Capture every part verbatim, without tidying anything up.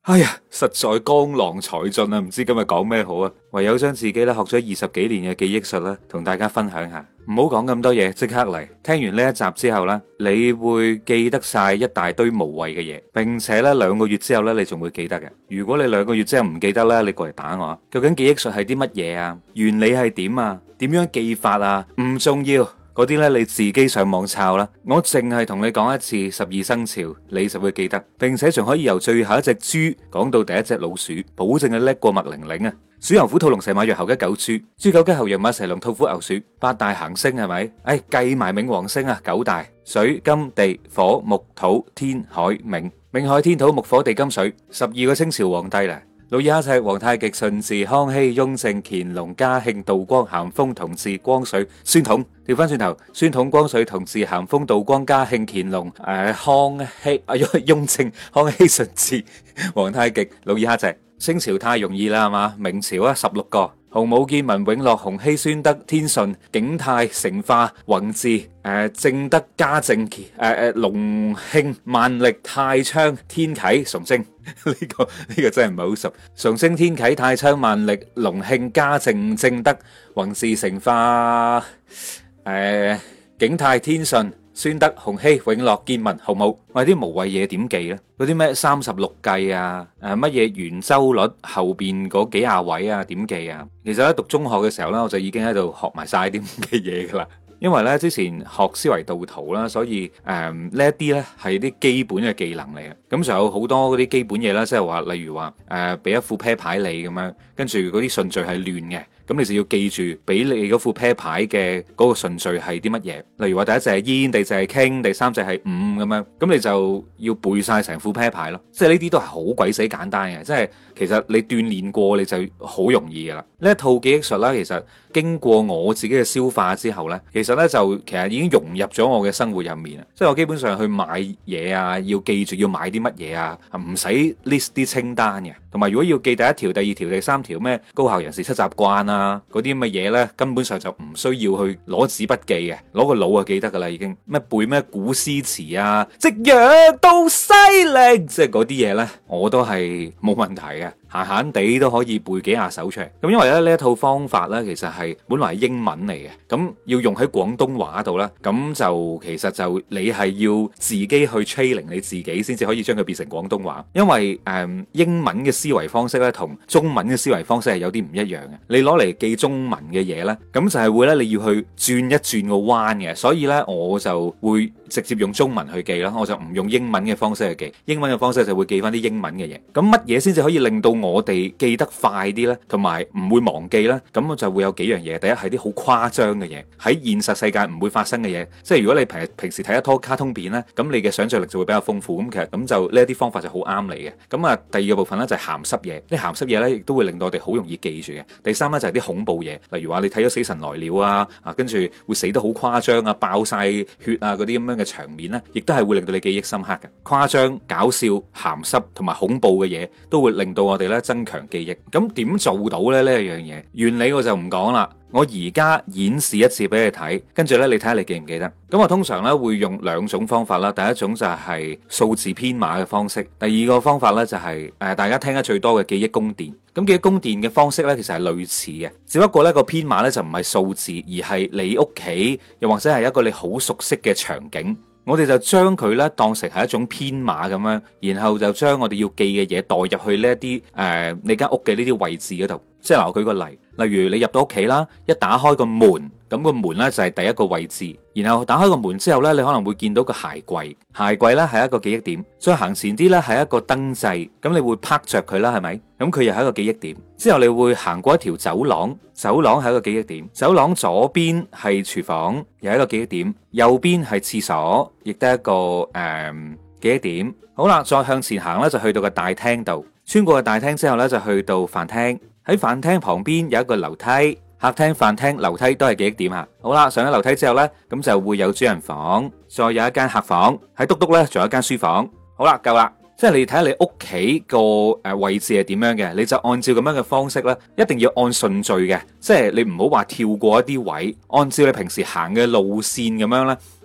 哎呀，實在江郎才盡啊！唔知今日講咩好啊，唯有將自己咧學咗二十幾年嘅記憶術咧，同大家分享下。唔好講咁多嘢，即刻嚟。聽完呢一集之後咧，你會記得晒一大堆無謂嘅嘢，並且咧兩個月之後咧，你仲會記得嘅。如果你兩個月之後唔記得咧，你過嚟打我啊！究竟記憶術係啲乜嘢啊？原理係點啊？點樣記法啊？唔重要。嗰啲咧你自己上網抄啦，我淨係同你講一次十二生肖，你就會記得，並且仲可以由最後一隻豬講到第一隻老鼠，保證係叻過麥玲玲啊！鼠牛虎兔龍蛇馬羊猴雞狗豬，豬狗雞猴羊馬蛇龍兔虎牛鼠，八大行星係咪？哎，計埋冥王星啊，九大水金地火木土天海冥，冥海天土木火地金水，十二個清朝皇帝啦。努爾哈赤、皇太極、順治、康熙、雍正、乾隆、嘉慶、道光、咸豐、同治、光緒、宣統。調翻轉頭，宣統、光緒、同治、咸豐、道光、嘉慶、乾隆、誒、呃、康熙、啊雍正、康熙、順治、皇太極、努爾哈赤。清朝太容易啦，係嘛？明朝啊，十六個。洪武、建文、永樂、洪熙、宣德、天順、景泰、成化、弘治、誒、呃、正德、嘉靖、誒誒隆慶、萬曆、泰昌、天啟、崇禎。呢、這個呢、這個真係唔係好熟。崇禎、天啟、泰昌、萬曆、隆慶、嘉靖、正德、弘治、成化、誒、呃、景泰、天順、宣德、洪熙、永樂、建文、洪武。喂，啲無謂嘢點記咧？嗰啲咩三十六計啊，誒乜嘢圓周率後邊嗰幾廿位啊，點記啊？其實咧讀中學嘅時候咧，我就已經喺度學埋晒啲咁嘅嘢噶啦。因為咧之前學思維導圖啦，所以誒、呃、呢一啲咧係啲基本嘅技能嚟嘅。咁仲有好多嗰啲基本嘢啦，即係話例如話誒俾一副啤牌你咁樣，跟住嗰啲順序係亂嘅，咁你就要記住俾你嗰副啤牌嘅嗰個順序係啲乜嘢。例如話第一隻係煙，第二隻係傾，第三隻係五咁樣，咁你就要背晒成副啤牌咯。即係呢啲都係好鬼死簡單嘅，即係其實你鍛煉過你就好容易噶啦。呢一套記憶術啦，其實經過我自己嘅消化之後咧，其實咧就其實已經融入咗我嘅生活入面啊。即係我基本上去買嘢啊，要記住要買啲乜嘢啊，唔使 list 啲清單嘅。同埋如果要記第一條、第二條、第三條咩高效人士七習慣啊嗰啲咁嘅嘢咧，根本上就唔需要去攞紙筆記嘅，攞個腦就記得噶啦已經。咩背咩古詩詞啊，夕陽到西嶺，即係嗰啲嘢咧，我都係冇問題嘅。閒閒地都可以背幾下手出嚟，咁因為咧呢一套方法咧，其實係本來係英文嚟嘅，咁要用喺廣東話度啦，咁就其實就你係要自己去 training 你自己，先至可以將佢變成廣東話。因為誒、嗯、英文嘅思維方式咧，同中文嘅思維方式係有啲唔一樣嘅。你攞嚟記中文嘅嘢咧，咁就係會咧你要去轉一轉個彎嘅，所以咧我就會直接用中文去記啦，我就唔用英文嘅方式去記。英文嘅方式就會記翻啲英文嘅嘢。咁乜嘢先至可以令到我哋記得快啲呢？同埋唔會忘記呢？咁就會有幾樣嘢。第一係啲好誇張嘅嘢，喺現實世界唔會發生嘅嘢。即係如果你平平時睇一拖卡通片呢，咁你嘅想像力就會比較豐富。咁其實咁就呢一啲方法就好啱你嘅。咁啊，第二個部分呢，就係鹹濕嘢。啲鹹濕嘢呢，亦都會令到我哋好容易記住嘅。第三呢，就係啲恐怖嘢，例如話你睇咗《死神來了》啊，啊跟住會死得好誇張啊，爆晒血啊嗰啲咁樣嘅場面呢，亦都係會令到你記憶深刻嘅。誇張、搞笑、鹹濕同埋恐怖嘅嘢，都會令到我哋咧增強記憶。咁點做到咧呢一樣嘢？原理我就唔講啦。我而家演示一次俾你睇，跟住咧你睇下你記唔記得？咁我通常咧會用兩種方法啦。第一種就係數字編碼嘅方式，第二個方法咧就係、是、誒、呃、大家聽得最多嘅記憶宮殿。咁記憶宮殿嘅方式咧其實係類似嘅，只不過咧個編碼咧就唔係數字，而係你屋企又或者係一個你好熟悉嘅場景。我哋就將佢咧當成係一種編碼咁樣，然後就將我哋要記嘅嘢代入去呢一啲誒你間屋嘅呢啲位置嗰度。即係嗱，我舉個例，例如你入到屋企啦，一打開個門，咁個門咧就係第一個位置，然後打開個門之後咧，你可能會見到個鞋櫃，鞋櫃咧係一個記憶點，再行前啲咧係一個燈掣，咁你會拍着佢啦，係咪？咁佢又係一個記憶點。之後你會行過一條走廊，走廊係一個記憶點，走廊左邊係廚房，又係一個記憶點，右邊係廁所，亦都係一個誒、呃、記憶點。好啦，再向前行咧就去到個大廳度，穿過個大廳之後咧就去到飯廳。喺飯廳旁邊有一個樓梯，客廳、飯廳、樓梯都係記憶點啊！好啦，上咗樓梯之後呢，咁就會有主人房，再有一間客房，喺篤篤呢，仲有一間書房。好啦，夠啦，即係你睇下你屋企個誒位置係點樣嘅，你就按照咁樣嘅方式呢，一定要按順序嘅，即係你唔好話跳過一啲位，按照你平時行嘅路線咁樣呢。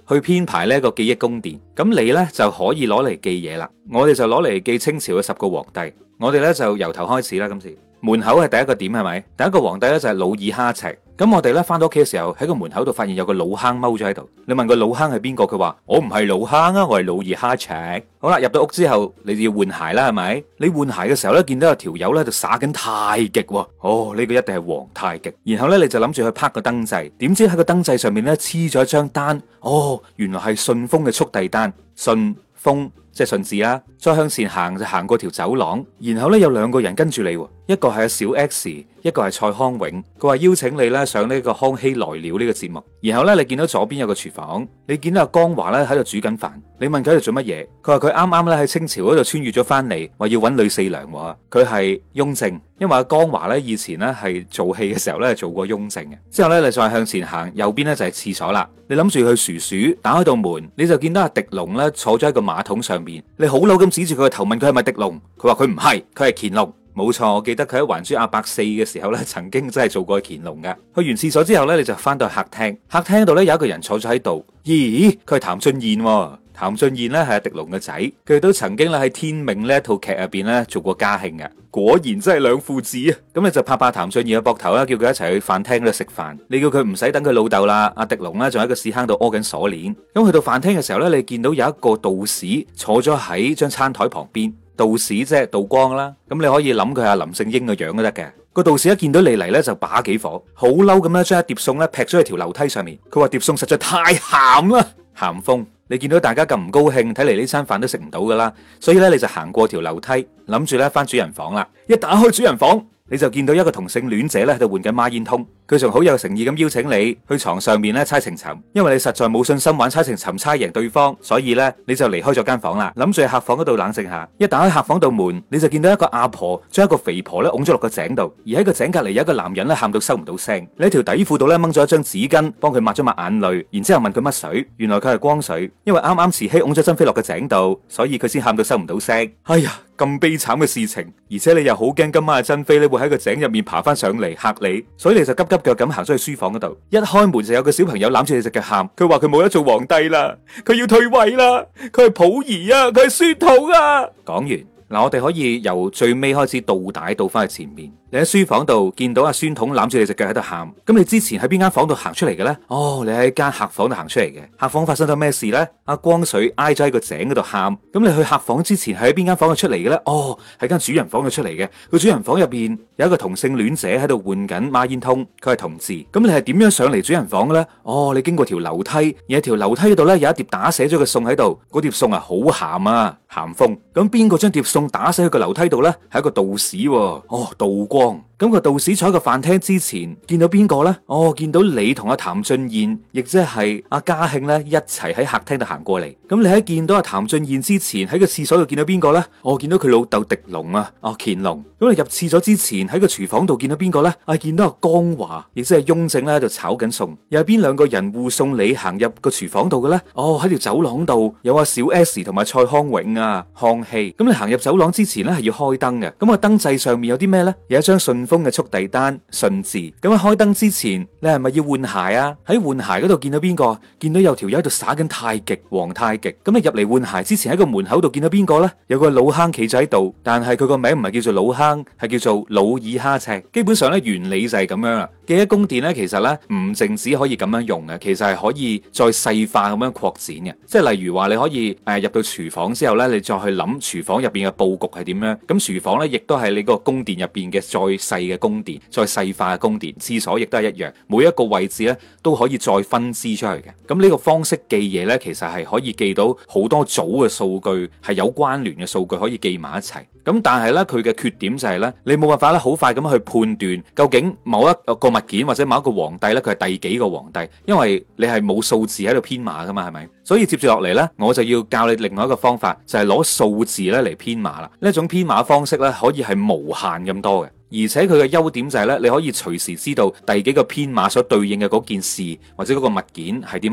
去編排呢一個記憶宮殿。咁你呢就可以攞嚟記嘢啦。我哋就攞嚟記清朝嘅十個皇帝。我哋呢就由頭開始啦。今次門口係第一個點係咪？第一個皇帝呢就係努爾哈赤。咁我哋咧翻到屋企嘅時候，喺個門口度發現有個老坑踎咗喺度。你問個老坑係邊個？佢話我唔係老坑啊，我係努爾哈赤。好啦，入到屋之後，你就要換鞋啦，係咪？你換鞋嘅時候咧，見到有條友咧就耍緊太極喎。哦，呢個一定係皇太極。然後咧，你就諗住去拍個燈掣，點知喺個燈掣上面咧黐咗一張單。哦，原來係順豐嘅速遞單。順豐即係順治啦。再向前行就行過條走廊，然後咧有兩個人跟住你，一個係阿小 X，一個係蔡康永。佢話邀請你咧上呢個康熙來了呢個節目。然後咧你見到左邊有個廚房，你見到阿江華咧喺度煮緊飯。你問佢喺度做乜嘢？佢話佢啱啱咧喺清朝嗰度穿越咗翻嚟，話要揾呂四娘。佢係雍正，因為阿江華咧以前咧係做戲嘅時候咧做過雍正嘅。之後咧你再向前行，右邊咧就係廁所啦。你諗住去薯鼠，打開道門，你就見到阿狄龍咧坐咗喺個馬桶上面。你好嬲咁指住佢個頭問佢係咪狄龍？佢話佢唔係，佢係乾隆。冇錯，我記得佢喺還珠阿伯四嘅時候咧，曾經真係做過乾隆噶。去完廁所之後咧，你就翻到去客廳。客廳度咧有一個人坐咗喺度。咦，佢係譚俊彥喎。譚俊彥咧係阿狄龍嘅仔，佢都曾經咧喺天命呢一套劇入邊咧做過嘉慶嘅。果然真係兩父子啊！咁你就拍拍譚俊彥嘅膊頭啦，叫佢一齊去飯廳度食飯。你叫佢唔使等佢老豆啦，阿狄龍咧仲喺個屎坑度屙緊鎖鏈。咁去到飯廳嘅時候咧，你見到有一個道士坐咗喺張餐台旁邊。道士即係道光啦，咁你可以諗佢係林正英嘅樣都得嘅。個道士一見到你嚟咧就把幾火，好嬲咁咧將一碟餸咧劈咗喺條樓梯上面。佢話碟餸實在太鹹啦，鹹風。你見到大家咁唔高興，睇嚟呢餐飯都食唔到噶啦，所以咧你就行過條樓梯，諗住咧翻主人房啦。一打開主人房，你就見到一個同性戀者咧喺度換緊孖煙通。佢仲好有誠意咁邀請你去床上面咧猜情尋，因為你實在冇信心玩猜情尋猜贏對方，所以咧你就離開咗間房啦，諗住喺客房嗰度冷靜下。一打開客房度門，你就見到一個阿婆將一個肥婆咧拱咗落個井度，而喺個井隔籬有一個男人咧喊到收唔到聲。你喺條底褲度咧掹咗一張紙巾，幫佢抹咗抹眼淚，然之後問佢乜水，原來佢係光水，因為啱啱慈禧拱咗珍妃落個井度，所以佢先喊到收唔到聲。哎呀，咁悲慘嘅事情，而且你又好驚今晚嘅珍妃咧會喺個井入面爬翻上嚟嚇你，所以你就急急腳咁行咗去書房嗰度。一開門就有個小朋友攬住你隻腳喊，佢話佢冇得做皇帝啦，佢要退位啦，佢係溥儀啊，佢係宣統啊。講完嗱，我哋可以由最尾開始倒帶倒翻去前面。你喺書房度見到阿宣統攬住你隻腳喺度喊，咁你之前喺邊間房度行出嚟嘅咧？哦，你喺間客房度行出嚟嘅。客房發生咗咩事咧？阿光緒挨咗喺個井嗰度喊，咁你去客房之前係喺邊間房度出嚟嘅咧？哦，喺間主人房度出嚟嘅。個主人房入邊有一個同性戀者喺度換緊孖煙通，佢係同志。咁你係點樣上嚟主人房嘅咧？哦，你經過條樓梯，而喺條樓梯嗰度咧有一碟打瀉咗嘅餸喺度，嗰碟餸啊好鹹啊，鹹風。咁邊個將碟餸打瀉喺個樓梯度咧？係一個道士喎。哦，道光。咁個道士坐喺個飯廳之前見到邊個呢？哦，見到你同阿譚俊彥，亦即係阿嘉慶咧一齊喺客廳度行過嚟。咁你喺見到阿譚俊彥之前喺個廁所度見到邊個呢？哦，見到佢老豆狄龍啊，哦乾隆。咁你入廁所之前喺個廚房度見到邊個呢？啊，見到阿江華，亦即係雍正咧喺度炒緊餸。又係邊兩個人護送你行入個廚房度嘅呢？哦，喺條走廊度有阿小 S 同埋蔡康永啊，康熙。咁你行入走廊之前咧係要開燈嘅。咁個燈掣上面有啲咩呢？有一張信封嘅速遞單，順治。咁喺開燈之前，你係咪要換鞋啊？喺換鞋嗰度見到邊個？見到有條友喺度耍緊太極，皇太極。咁你入嚟換鞋之前喺個門口度見到邊個呢？有個老坑企咗喺度，但係佢個名唔係叫做老坑，係叫做努爾哈赤。基本上咧原理就係咁樣啦。記憶宮殿咧其實咧唔淨止可以咁樣用嘅，其實係可以再細化咁樣擴展嘅。即係例如話你可以誒、呃、入到廚房之後咧，你再去諗廚房入邊嘅佈局係點樣。咁廚房咧亦都係你個宮殿入邊嘅再細嘅宮殿，再細化嘅宮殿。廁所亦都係一樣，每一個位置咧都可以再分支出去嘅。咁呢個方式記嘢咧，其實係可以記到好多組嘅數據，係有關聯嘅數據可以記埋一齊。咁但係咧佢嘅缺點就係咧，你冇辦法咧好快咁去判斷究竟某一個物件或者某一個皇帝咧佢係第幾個皇帝，因為你係冇數字喺度編碼噶嘛，係咪？所以接住落嚟咧，我就要教你另外一個方法，就係攞數字咧嚟編碼啦。呢一種編碼方式咧可以係無限咁多嘅。而且佢嘅優點就係咧，你可以隨時知道第幾個編碼所對應嘅嗰件事或者嗰個物件係啲乜嘢。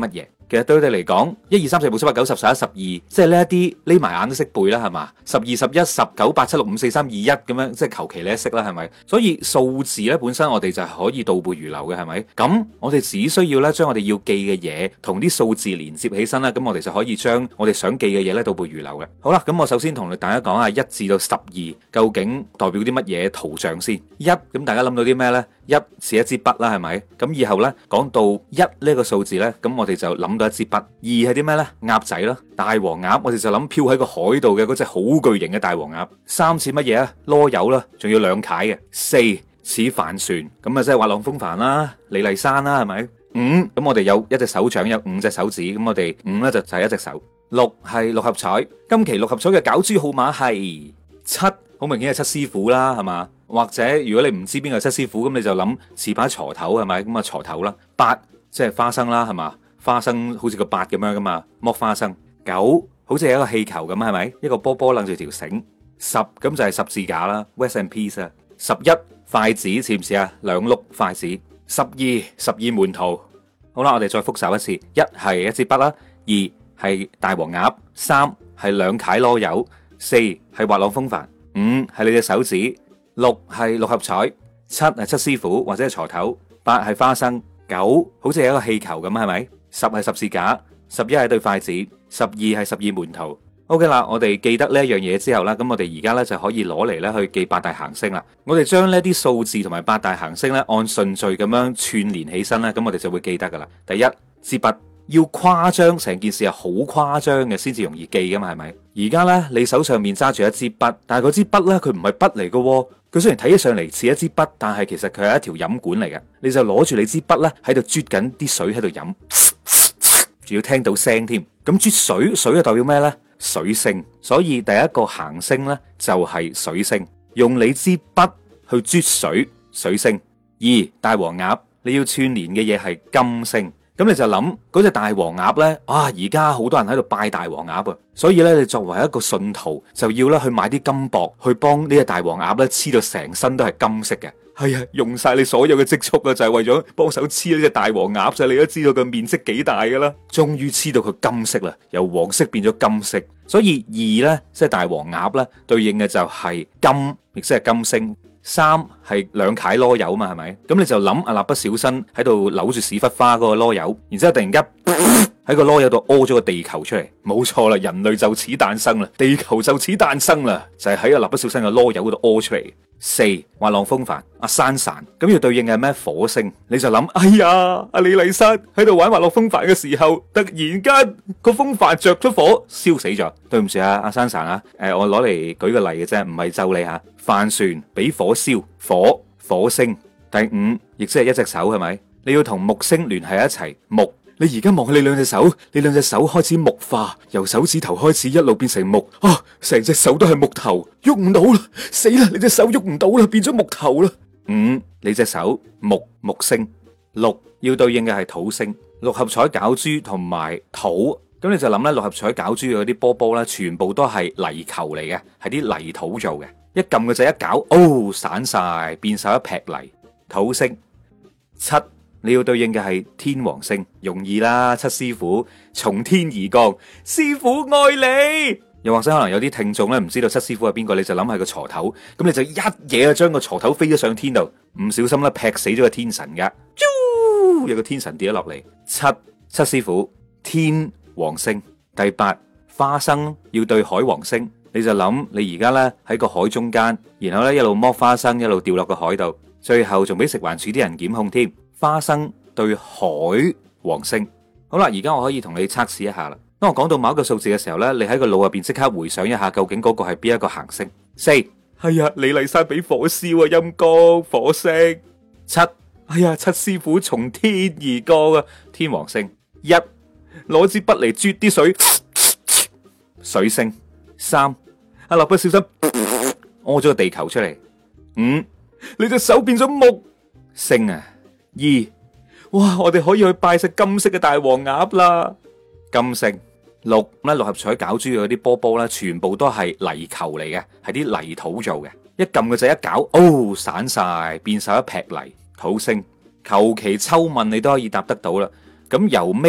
其實對佢哋嚟講，一二三四五六七八九十十一十二，即係呢一啲匿埋眼都識背啦，係嘛？十二十一十九八七六五四三二一咁樣，即係求其你都識啦，係咪？所以數字咧本身我哋就係可以倒背如流嘅，係咪？咁我哋只需要咧將我哋要記嘅嘢同啲數字連接起身啦，咁我哋就可以將我哋想記嘅嘢咧倒背如流嘅。好啦，咁我首先同大家講下一至到十二究竟代表啲乜嘢圖像先。一，咁大家諗到啲咩呢？一似一支筆啦，係咪？咁以後呢，講到一呢個數字呢，咁我哋就諗到一支筆。二係啲咩呢？鴨仔啦，大黃鴨，我哋就諗漂喺個海度嘅嗰隻好巨型嘅大黃鴨。三似乜嘢啊？囉柚啦，仲要兩楷嘅。四似帆船，咁啊即係滑浪風帆啦，李麗珊啦，係咪？五，咁我哋有一隻手掌，有五隻手指，咁我哋五呢就就係一隻手。六係六合彩，今期六合彩嘅攪珠號碼係七，好明顯係七師傅啦，係嘛？或者如果你唔知邊個七師傅，咁你就諗似把鋤頭，係咪？咁啊鋤頭啦。八即係花生啦，係嘛？花生好似個八咁樣噶嘛，剝花生。九好似係一個氣球咁，係咪？一個波波掕住條繩。十咁就係十字架啦 ，Rest in Peace 啊。十一筷子似唔似啊？兩碌筷子。十二十二門徒。好啦，我哋再複習一次：一係一支筆啦，二係大黃鴨，三係兩楷籮柚，四係滑浪風帆，五係你隻手指。六係六合彩，七係七師傅或者係鋤頭，八係花生，九好似係一個氣球咁，係咪？十係十字架，十一係對筷子，十二係十二門徒。OK 啦，我哋記得呢一樣嘢之後啦，咁我哋而家咧就可以攞嚟咧去記八大行星啦。我哋將呢啲數字同埋八大行星咧按順序咁樣串連起身咧，咁我哋就會記得噶啦。第一，支筆。要誇張，成件事係好誇張嘅先至容易記噶嘛，係咪？而家呢，你手上面揸住一支筆，但係嗰支筆呢，佢唔係筆嚟噶，佢雖然睇起上嚟似一支筆，但係其實佢係一條飲管嚟嘅。你就攞住你支筆呢，喺度啜緊啲水喺度飲，仲要聽到聲添。咁啜水，水係代表咩呢？水星。所以第一個行星呢，就係水星。用你支筆去啜水，水星。二，大黃鴨，你要串聯嘅嘢係金星。咁你就諗嗰隻大黃鴨呢，啊而家好多人喺度拜大黃鴨啊，所以呢，你作為一個信徒就要咧去買啲金箔去幫呢隻大黃鴨呢黐到成身都係金色嘅。係啊，用晒你所有嘅積蓄啊，就係為咗幫手黐呢隻大黃鴨啫。你都知道佢面積幾大噶啦，終於黐到佢金色啦，由黃色變咗金色。所以二呢，即係大黃鴨呢，對應嘅就係金，亦即係金星。三係兩楷籮柚嘛，係咪？咁你就諗阿蠟筆小新喺度扭住屎忽花嗰個籮柚，然之後突然間喺個籮柚度屙咗個地球出嚟，冇錯啦，人類就此誕生啦，地球就此誕生啦，就係喺阿蠟筆小新嘅籮柚嗰度屙出嚟。四，滑浪風帆，阿珊珊，咁要對應嘅係咩？火星。你就諗，哎呀，阿李麗珊喺度玩滑浪風帆嘅時候，突然間個風帆着咗火，燒死咗。對唔住啊，阿珊珊啊，誒、呃，我攞嚟舉個例嘅啫，唔係咒你吓。帆船俾火燒，火火星。第五，亦即係一隻手，係咪？你要同木星聯繫一齊，木。你而家望下你兩隻手，你兩隻手開始木化，由手指頭開始一路變成木，啊，成隻手都係木頭，喐唔到啦，死啦！你隻手喐唔到啦，變咗木頭啦。五，你隻手木木星。六，要對應嘅係土星，六合彩攪珠同埋土，咁你就諗咧，六合彩攪珠嘅嗰啲波波咧，全部都係泥球嚟嘅，係啲泥土做嘅，一撳個掣一搞，哦，散晒，變晒一劈泥。土星。七，你要對應嘅係天王星，容易啦，七師傅從天而降，師傅愛你。又或者可能有啲聽眾咧唔知道七師傅係邊個，你就諗係個鋤頭，咁你就一嘢啊將個鋤頭飛咗上天度，唔小心咧劈死咗個天神噶，有個天神跌咗落嚟。七，七師傅天王星。第八，花生要對海王星，你就諗你而家咧喺個海中間，然後咧一路剝花生一路掉落個海度，最後仲俾食環署啲人檢控添。花生對海王星。好啦，而家我可以同你測試一下啦。當我講到某一個數字嘅時候呢，你喺個腦入邊即刻回想一下，究竟嗰個係邊一個行星？四，係呀，李麗珊俾火燒啊，陰公火星。七，哎呀，七師傅從天而降啊，天王星。一，攞支筆嚟啜啲水，水星。三，阿蠟筆小新屙咗個地球出嚟。五，你隻手變咗木星啊。二，哇！我哋可以去拜食金色嘅大黃鴨啦，金星。六，咧六合彩攪珠嗰啲波波咧，全部都係泥球嚟嘅，係啲泥土做嘅。一撳個掣一搞，哦，散晒，變晒一劈泥。土星。求其抽問你都可以答得到啦。咁由尾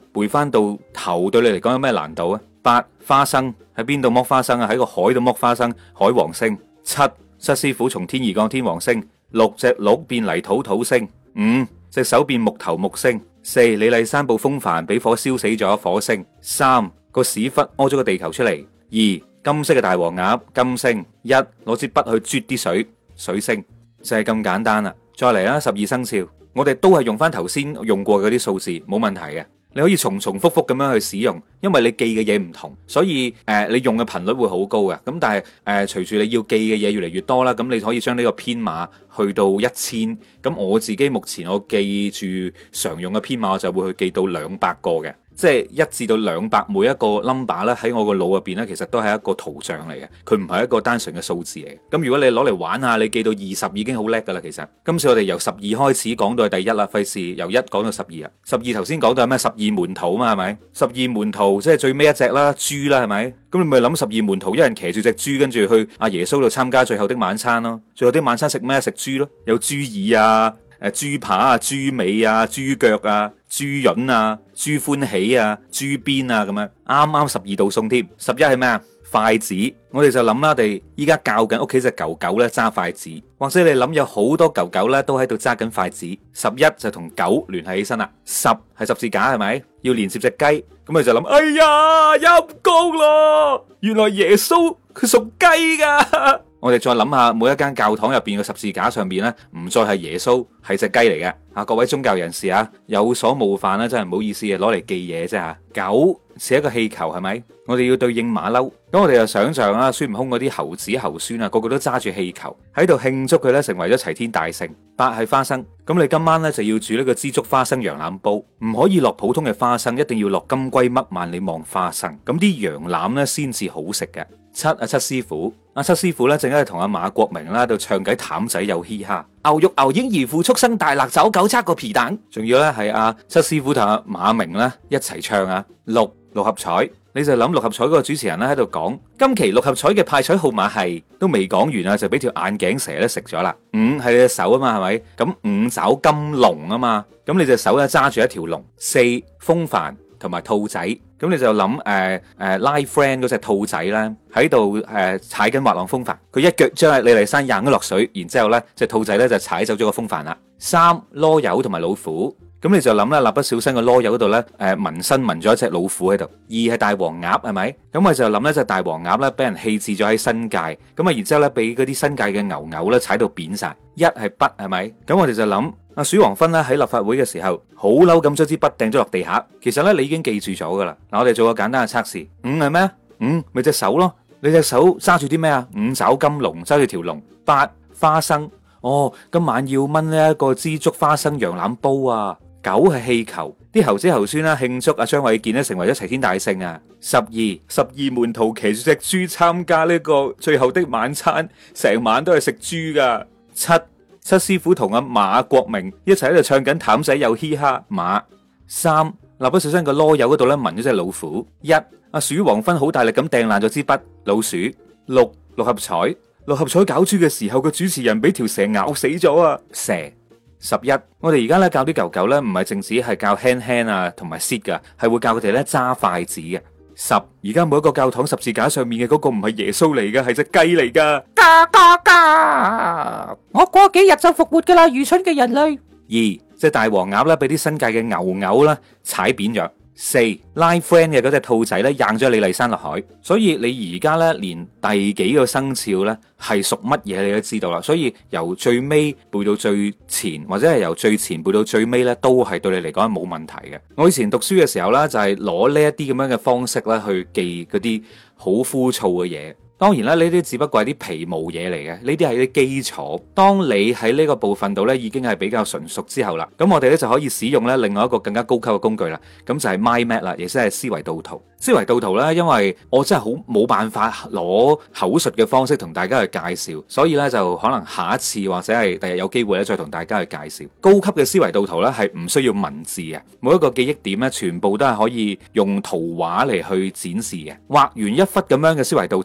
背翻到頭對你嚟講有咩難度啊？八、花生喺邊度剝花生啊？喺個海度剝花生，海王星。七、七師傅從天而降，天王星。六、隻鹿變泥土，土星。五、隻手變木頭，木星。四、李麗珊部風帆俾火燒死咗，火星。三、個屎忽屙咗個地球出嚟。二、金色嘅大黃鴨，金星。一、攞支筆去啜啲水，水星。就係咁簡單啦。再嚟啦，十二生肖，我哋都係用翻頭先用過嗰啲數字，冇問題嘅。你可以重重複複咁樣去使用，因為你記嘅嘢唔同，所以誒、呃、你用嘅頻率會好高嘅。咁但係誒隨住你要記嘅嘢越嚟越多啦，咁你可以將呢個編碼去到一千。咁我自己目前我記住常用嘅編碼，我就會去記到兩百個嘅。即係一至到兩百每一個 number 咧，喺我個腦入邊咧，其實都係一個圖像嚟嘅，佢唔係一個單純嘅數字嚟嘅。咁如果你攞嚟玩下，你記到二十已經好叻噶啦。其實今次我哋由十二開始講到係第一啦，費事由一講到十二啊。十二頭先講到係咩？十二門徒嘛，係咪？十二門徒即係最尾一隻啦，豬啦，係咪？咁你咪諗十二門徒，一人騎住隻豬，跟住去阿耶穌度參加最後的晚餐咯。最後的晚餐食咩？食豬咯，有豬耳啊。誒，豬扒啊，豬尾啊，豬腳啊，豬潤啊，豬歡喜啊，豬鞭啊，咁樣啱啱十二道餸添。十一係咩啊？筷子。我哋就諗啦，我哋依家教緊屋企隻狗狗咧揸筷子，或者你諗有好多狗狗咧都喺度揸緊筷子。十一就同狗聯繫起身啦。十係十字架，係咪？要連接隻雞，咁你就諗，哎呀，陰公咯，原來耶穌佢屬雞噶。我哋再諗下，每一間教堂入邊嘅十字架上邊咧，唔再係耶穌，係隻雞嚟嘅。啊，各位宗教人士啊，有所冒犯啦，真係唔好意思啊，攞嚟記嘢啫吓。狗似一個氣球，係咪？我哋要對應馬騮，咁我哋就想象啦，孫悟空嗰啲猴子猴孫啊，個個都揸住氣球喺度慶祝佢咧成為咗齊天大聖。八係花生，咁你今晚咧就要煮呢個枝竹花生羊腩煲，唔可以落普通嘅花生，一定要落金龜嘜萬里望花生，咁啲羊腩咧先至好食嘅。七啊，七師傅，阿七師傅咧正喺度同阿馬國明啦喺度唱緊譚仔有嘻哈，牛肉牛英兒父畜生大辣酒九七個皮蛋，仲要咧係阿七師傅同阿馬明咧一齊唱啊。六六合彩，你就諗六合彩嗰個主持人咧喺度講，今期六合彩嘅派彩號碼係，都未講完啊，就俾條眼鏡蛇咧食咗啦。五係你隻手啊嘛，係咪？咁五爪金龍啊嘛，咁你隻手咧揸住一條龍。四風帆同埋兔仔，咁你就諗誒誒拉 friend 嗰隻兔仔咧喺度誒踩緊滑浪風帆，佢一腳將李麗珊掟咗落水，然之後咧隻兔仔咧就踩走咗個風帆啦。三囉柚同埋老虎。咁你就諗啦，蠟筆小新個囉柚嗰度咧，誒紋身紋咗一隻老虎喺度。二係大黃鴨，係咪？咁我就諗咧，隻大黃鴨咧俾人棄置咗喺新界，咁啊，然之後咧俾嗰啲新界嘅牛牛咧踩到扁晒。一係筆，係咪？咁我哋就諗阿鼠王芬咧喺立法會嘅時候，好嬲咁將支筆掟咗落地下。其實咧你已經記住咗噶啦。嗱，我哋做個簡單嘅測試。五係咩？五咪隻手咯，你隻手揸住啲咩啊？五爪金龍，揸住條龍。八花生，哦，今晚要炆呢一個枝竹花生羊腩煲啊。九係氣球，啲猴子猴孫啦慶祝阿張衛健咧成為咗齊天大聖啊！十二十二門徒騎住隻豬參加呢個最後的晚餐，成晚都係食豬噶。七七師傅同阿馬國明一齊喺度唱緊譚仔有嘻哈馬。三蠟筆小新個囉柚嗰度咧紋咗隻老虎。一阿鼠王芬好大力咁掟爛咗支筆，老鼠。六六合彩，六合彩搞豬嘅時候個主持人俾條蛇咬死咗啊！蛇。十一，我哋而家咧教啲狗狗咧，唔係淨止係教 hand hand 啊，同埋 sit 噶，係會教佢哋咧揸筷子嘅。十，而家每一個教堂十字架上面嘅嗰個唔係耶穌嚟噶，係隻雞嚟噶。嘎嘎嘎！我過幾日就復活噶啦，愚蠢嘅人類。二，隻大黃鴨咧，俾啲新界嘅牛牛啦踩扁咗。四拉 friend 嘅嗰隻兔仔咧，掟咗李麗珊落海，所以你而家咧連第幾個生肖咧係屬乜嘢你都知道啦。所以由最尾背到最前，或者係由最前背到最尾咧，都係對你嚟講係冇問題嘅。我以前讀書嘅時候咧，就係攞呢一啲咁樣嘅方式咧去記嗰啲好枯燥嘅嘢。當然啦，呢啲只不過係啲皮毛嘢嚟嘅，呢啲係啲基礎。當你喺呢個部分度咧已經係比較純熟之後啦，咁我哋咧就可以使用咧另外一個更加高級嘅工具啦。咁就係 mind map 啦，亦即係思維導圖。思維導圖咧，因為我真係好冇辦法攞口述嘅方式同大家去介紹，所以咧就可能下一次或者係第日有機會咧再同大家去介紹。高級嘅思維導圖咧係唔需要文字嘅，每一個記憶點咧全部都係可以用圖畫嚟去展示嘅。畫完一忽咁樣嘅思維導圖之後，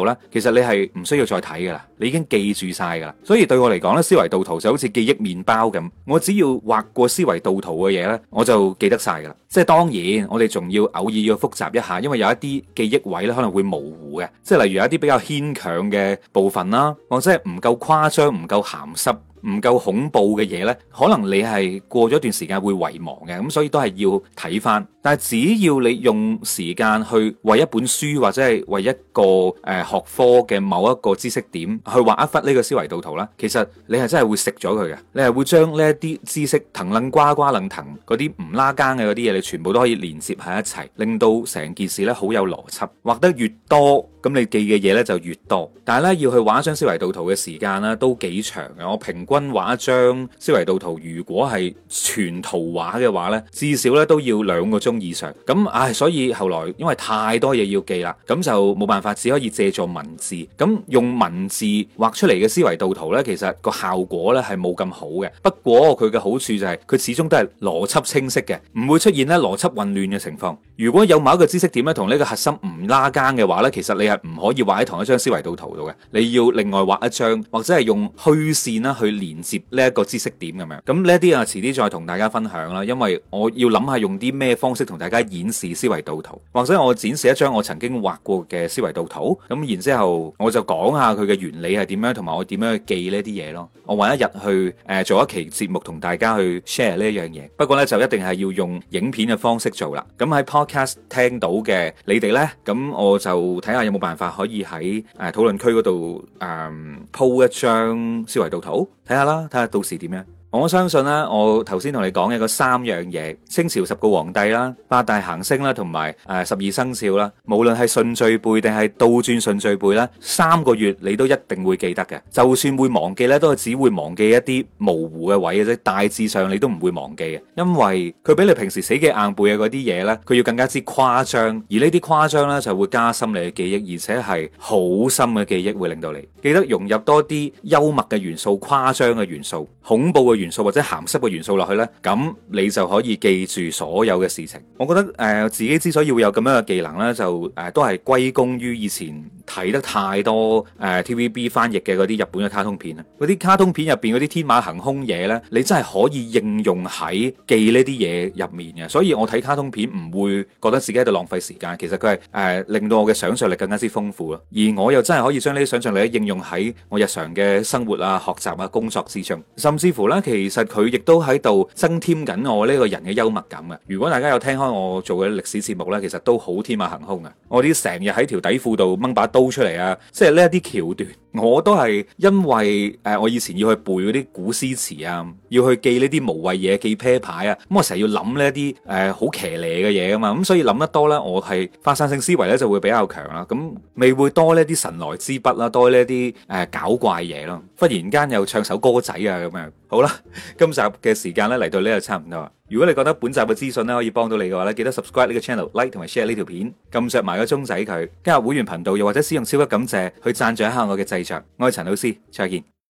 後呢，其實你係唔需要再睇噶啦，你已經記住晒噶啦。所以對我嚟講呢，思維導圖就好似記憶麵包咁，我只要畫過思維導圖嘅嘢呢，我就記得晒噶啦。即係當然，我哋仲要偶爾要複習一下，因為有一啲記憶位咧可能會模糊嘅，即係例如有一啲比較牽強嘅部分啦，或者係唔夠誇張、唔夠鹹濕、唔夠恐怖嘅嘢呢，可能你係過咗一段時間會遺忘嘅，咁所以都係要睇翻。但係只要你用時間去為一本書或者係為一個誒、呃、學科嘅某一個知識點去畫一忽呢個思維導圖啦，其實你係真係會食咗佢嘅，你係會將呢一啲知識騰楞呱呱楞騰嗰啲唔拉更嘅嗰啲嘢，你全部都可以連接喺一齊，令到成件事呢好有邏輯。畫得越多，咁你記嘅嘢呢就越多。但係呢，要去畫一張思維導圖嘅時間呢都幾長嘅，我平均畫一張思維導圖，如果係全圖畫嘅話呢，至少呢都要兩個鐘以上。咁唉，所以後來因為太多嘢要記啦，咁就冇辦法，只可以借助文字。咁用文字畫出嚟嘅思維導圖呢，其實個效果呢係冇咁好嘅。不過佢嘅好處就係佢始終都係邏輯清晰嘅，唔會出現呢邏輯混亂嘅情況。如果有某一個知識點咧同呢個核心唔拉更嘅話呢，其實你係唔可以畫喺同一張思維導圖度嘅，你要另外畫一張，或者係用虛線啦去連接呢一個知識點咁樣。咁呢一啲啊，遲啲再同大家分享啦，因為我要諗下用啲咩方式同大家演示思維導圖，或者我展示一張我曾經畫過嘅思維導圖，咁然之後我就講下佢嘅原理係點樣，同埋我點樣去記呢啲嘢咯。我揾一日去誒、呃、做一期節目同大家去 share 呢一樣嘢，不過呢，就一定係要用影片嘅方式做啦。咁喺 podcast 聽到嘅你哋呢，咁我就睇下有冇辦法可以喺誒討論區嗰度誒鋪一張思維導圖，睇下啦，睇下到時點樣。我相信咧，我頭先同你講嘅嗰三樣嘢，清朝十個皇帝啦，八大行星啦，同埋誒十二生肖啦，無論係順序背定係倒轉順序背啦，三個月你都一定會記得嘅。就算會忘記咧，都係只會忘記一啲模糊嘅位嘅啫，大致上你都唔會忘記嘅，因為佢比你平時死記硬背嘅嗰啲嘢咧，佢要更加之誇張，而呢啲誇張咧就會加深你嘅記憶，而且係好深嘅記憶，會令到你記得融入多啲幽默嘅元素、誇張嘅元素、恐怖嘅元素或者鹹濕嘅元素落去呢，咁你就可以記住所有嘅事情。我覺得誒、呃、自己之所以會有咁樣嘅技能呢，就誒、呃、都係歸功於以前睇得太多誒、呃、T V B 翻譯嘅嗰啲日本嘅卡通片啊。嗰啲卡通片入邊嗰啲天馬行空嘢呢，你真係可以應用喺記呢啲嘢入面嘅。所以我睇卡通片唔會覺得自己喺度浪費時間，其實佢係誒令到我嘅想象力更加之豐富咯。而我又真係可以將呢啲想象力應用喺我日常嘅生活啊、學習啊、工作之中，甚至乎呢，其實佢亦都喺度增添緊我呢個人嘅幽默感嘅。如果大家有聽開我做嘅歷史節目呢，其實都好天馬行空啊！我啲成日喺條底褲度掹把刀出嚟啊，即係呢一啲橋段，我都係因為誒、呃、我以前要去背嗰啲古詩詞啊，要去記呢啲無謂嘢，記啤牌啊，咁我成日要諗呢一啲誒好騎呢嘅嘢啊嘛，咁所以諗得多呢，我係發散性思維呢就會比較強啦，咁未會多呢啲神來之筆啦，多呢啲誒搞怪嘢咯，忽然間又唱首歌仔啊咁樣。好啦，今集嘅時間咧嚟到呢度差唔多。如果你覺得本集嘅資訊咧可以幫到你嘅話咧，記得 subscribe 呢個 channel、like 同埋 share 呢條片，撳着埋個鐘仔佢，加入會員頻道又或者使用超級感謝去贊助一下我嘅製作。我係陳老師，再見。